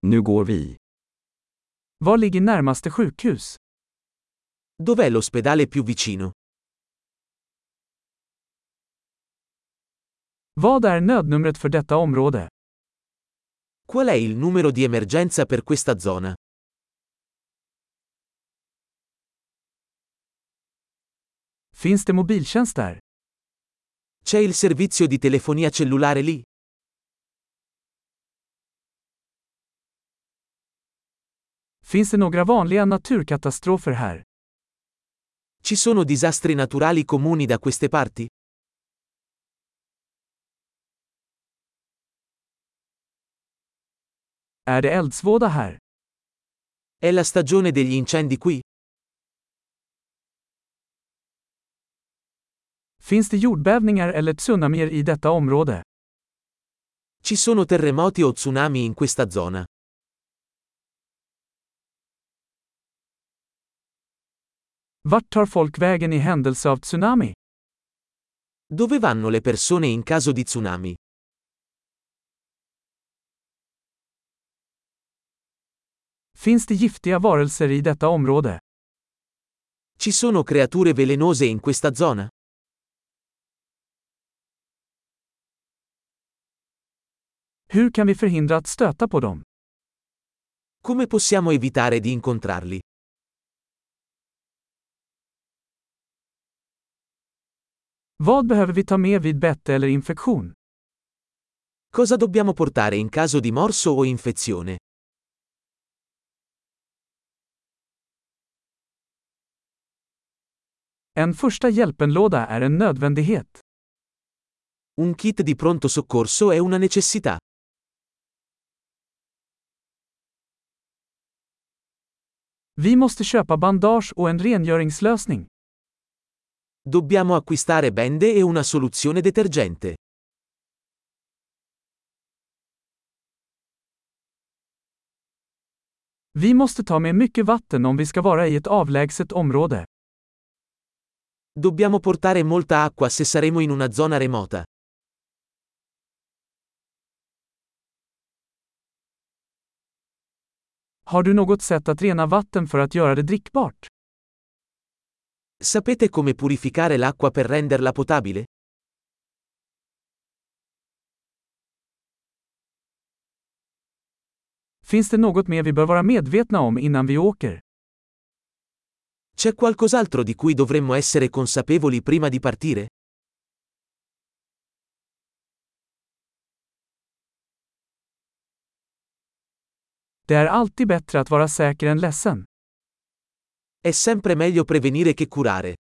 Nu går vi. Var ligger närmaste sjukhus? Dov'è l'ospedale più vicino? Vad är nödnumret för detta område? Qual è il numero di emergenza per questa zona? Finns det mobiltjänst där? C'è il servizio di telefonia cellulare lì? Finns det några vanliga naturkatastrofer här? Ci sono disastri naturali comuni da queste parti? Är det eldsvåda här? È la stagione degli incendi qui? Finns det jordbävningar eller tsunamier i detta område? Ci sono terremoti o tsunami in questa zona? Vart tar folk vägen i händelse av tsunami? Dove vanno le persone in caso di tsunami? Finns det giftiga varelser i detta område? Ci sono creature velenose in questa zona? Hur kan vi förhindra att stöta på dem? Come possiamo evitare di incontrarli? Vad behöver vi ta med vid bett eller infektion? Cosa dobbiamo portare in caso di morso o infezione? En första hjälpenlåda är en nödvändighet. Un kit di pronto soccorso è una necessità. Vi måste köpa bandage och en rengöringslösning. Dobbiamo acquistare bende e una soluzione detergente. Vi måste ta med mycket vatten om vi ska vara i ett avlägset område. Dobbiamo portare molta acqua se saremo in una zona remota. Har du något sätt att rena vatten för att göra det drickbart? Sapete come purificare l'acqua per renderla potabile? Finns det något mer vi bör vara medvetna om innan vi åker? C'è qualcos'altro di cui dovremmo essere consapevoli prima di partire? Det är alltid bättre att vara säker än ledsen. È sempre meglio prevenire che curare.